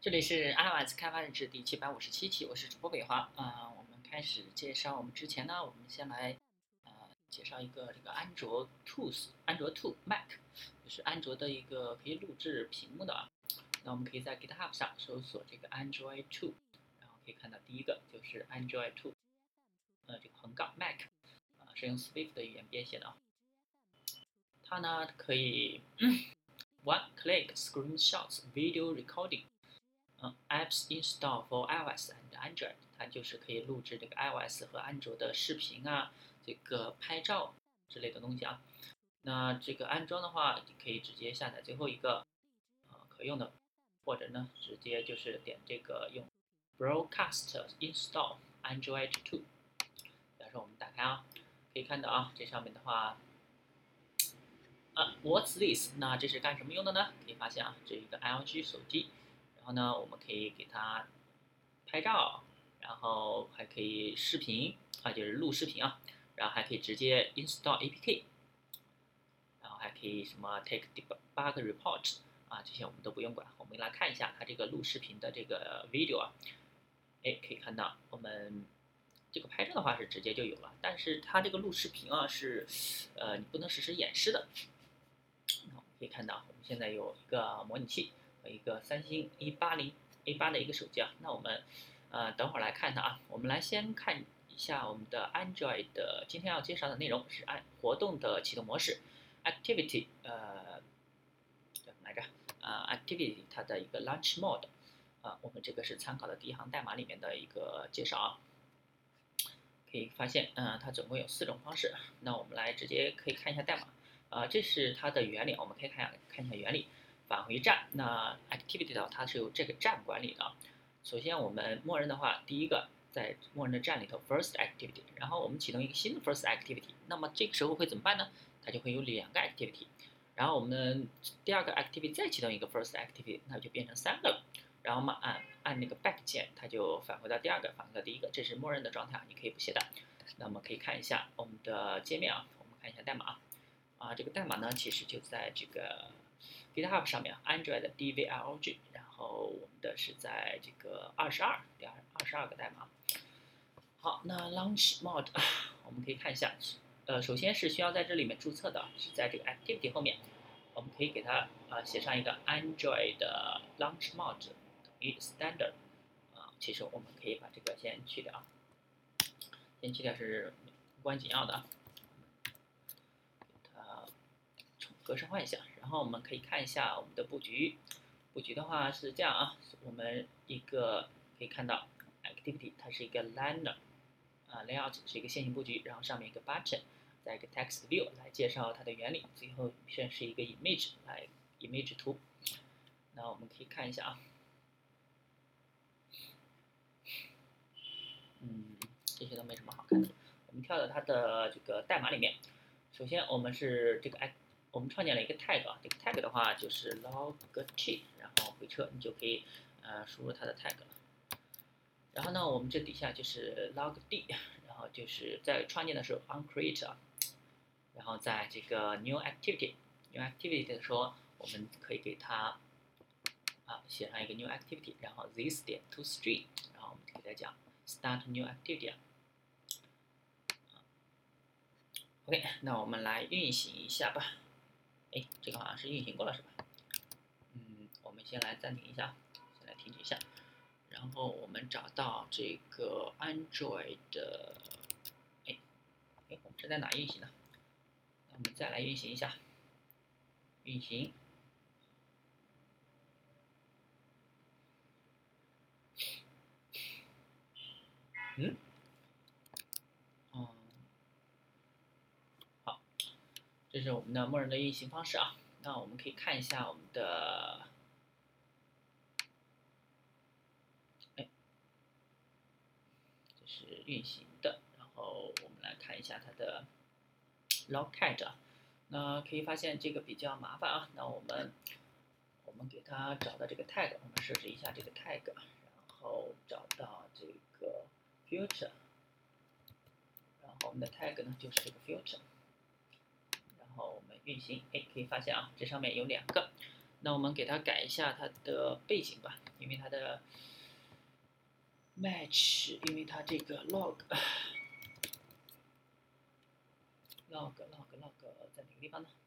这里是 iOS 开发日志第757期，我是主播北华我们开始介绍我们之前呢，我们先来介绍一个这个安卓 Tools，安卓 To Mac，就是安卓的一个可以录制屏幕的啊。那我们可以在 GitHub 上搜索这个 Android To，然后可以看到第一个就是 Android To，这个横杠 Mac，是用 Swift 的语言编写的啊。它呢可以one click screenshots video recording。Apps install for iOS and Android， 它就是可以录制这个 iOS 和安卓的视频啊，这个拍照之类的东西啊。那这个安装的话，你可以直接下载最后一个可用的，或者呢直接就是点这个用 Broadcast install Android 2。假如说我们打开啊，可以看到啊，这上面的话，What's this？ 那这是干什么用的呢？可以发现啊，这一个 LG 手机。然后呢，我们可以给它拍照，然后还可以视频就是录视频啊，然后还可以直接 install APK，然后还可以什么 take debug report 这些我们都不用管。我们来看一下它这个录视频的这个 video 啊，可以看到我们这个拍照的话是直接就有了，但是它这个录视频啊是你不能实时演示的。可以看到我们现在有一个模拟器和一个三星180A8的一个手机啊。那我们等会儿来看它啊。我们来先看一下我们的 Android 的今天要介绍的内容是按活动的启动模式 Activity 叫什么来着Activity 它的一个 Launch Mode 我们这个是参考的第一行代码里面的一个介绍啊。可以发现它总共有4种方式。那我们来直接可以看一下代码。这是它的原理，我们可以看一下原理。返回站，那 activity 的它是由这个站管理的。首先我们默认的话，第一个在默认的站里头 first activity， 然后我们启动一个新的 first activity， 那么这个时候会怎么办呢？它就会有2个 activity， 然后我们第二个 activity 再启动一个 first activity， 那就变成3个了。然后嘛按那个 back 键，它就返回到第二个，返回到第一个，这是默认的状态，你可以不携带。那么可以看一下我们的界面啊，我们看一下代码。这个代码呢，其实就在这个 GitHub 上面 ，Android 的 DVLG， 然后我们的是在这个第22个代码。好，那 Launch Mode 我们可以看一下，首先是需要在这里面注册的，是在这个 Activity 后面，我们可以给它写上一个 Android 的 Launch Mode 等于 Standard，其实我们可以把这个先去掉，是无关紧要的。格式化一下，然后我们可以看一下我们的布局。布局的话是这样啊，我们一个可以看到 activity 它是一个 layout 是一个线性布局，然后上面一个 button， 再一个 text view 来介绍它的原理，最后是一个 image 图。那我们可以看一下啊，这些都没什么好看的。我们跳到它的这个代码里面，首先我们是这个我们创建了一个 tag， 这个 tag 的话就是 log_t， 然后回车你就可以输入它的 tag 了。然后呢，我们这底下就是 log_d， 然后就是在创建的时候 onCreate， 然后在这个 new activity 的时候，我们可以给它写上一个 new activity， 然后 this 点 toString， 然后我们给它讲 start new activity。OK， 那我们来运行一下吧。这个好像是运行过了是吧？我们先来暂停一下，先来停止一下，然后我们找到这个 Android 的，我们是在哪运行呢？那我们再来运行一下，运行。好，这是我们的默认的运行方式啊。那我们可以看一下我们的，这是运行的。然后我们来看一下它的 logcat，那可以发现这个比较麻烦啊。那我们给它找到这个 tag， 我们设置一下这个 tag， 然后找到这个 filter， 然后我们的 tag 呢就是这个 filter， 然后我们运行，可以发现啊，这上面有2个。 那我们给它改一下它的背景吧，因为它的 match，因为它这个 log 在哪个地方呢？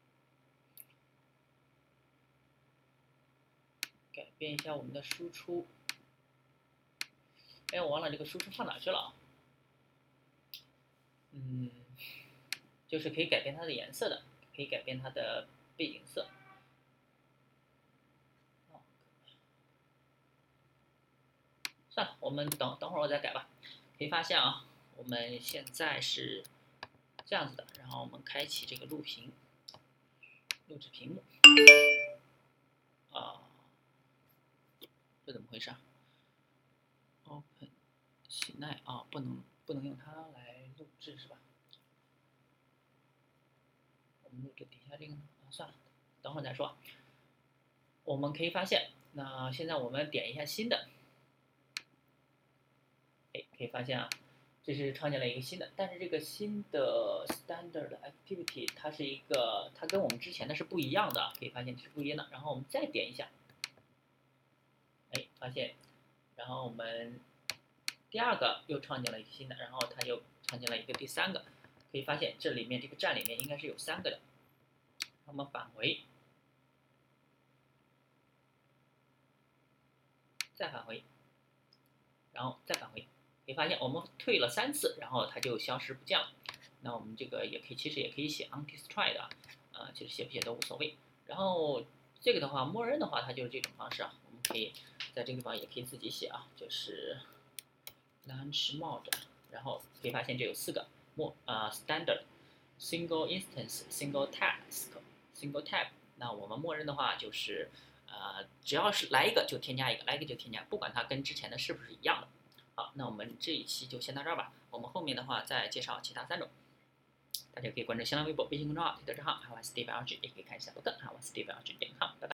改变一下我们的输出。哎，我忘了这个输出放哪去了啊？就是可以改变它的颜色的，可以改变它的背景色。算了，我们等会儿我再改吧。可以发现啊，我们现在是这样子的，然后我们开启这个录屏，录制屏幕。啊，这怎么回事啊？Open 喜奈啊，不能用它来录制是吧？我们录制底下这个呢？啊，算了，等会儿再说。我们可以发现，那现在我们点一下新的，哎，可以发现啊，这是创建了一个新的，但是这个新的 standard activity 它是一个，它跟我们之前的是不一样的，可以发现是不一样的。然后我们再点一下，哎，发现，然后我们第二个又创建了一个新的，然后它又创建了一个第三个，可以发现这里面这个站里面应该是有3个的。那么返回，再返回，然后再返回，可以发现我们退了3次，然后它就消失不见了。那我们这个也可以，其实也可以写 undestroyed 啊，其实写不写都无所谓。然后这个的话，默认的话它就是这种方式啊，我们可以在这个地方也可以自己写啊，就是 launch mode，然后可以发现这有4个standard single instance single task single tab。那我们默认的话就是只要是来一个就添加一个，来一个就添加，不管它跟之前的是不是一样的。好，那我们这一期就先到这儿吧。我们后面的话再介绍其他3种。大家可以关注新浪微博、微信公众号、推特账号，还有 SteveLG，也可以看一下博客，还有 SteveLG.com。拜拜。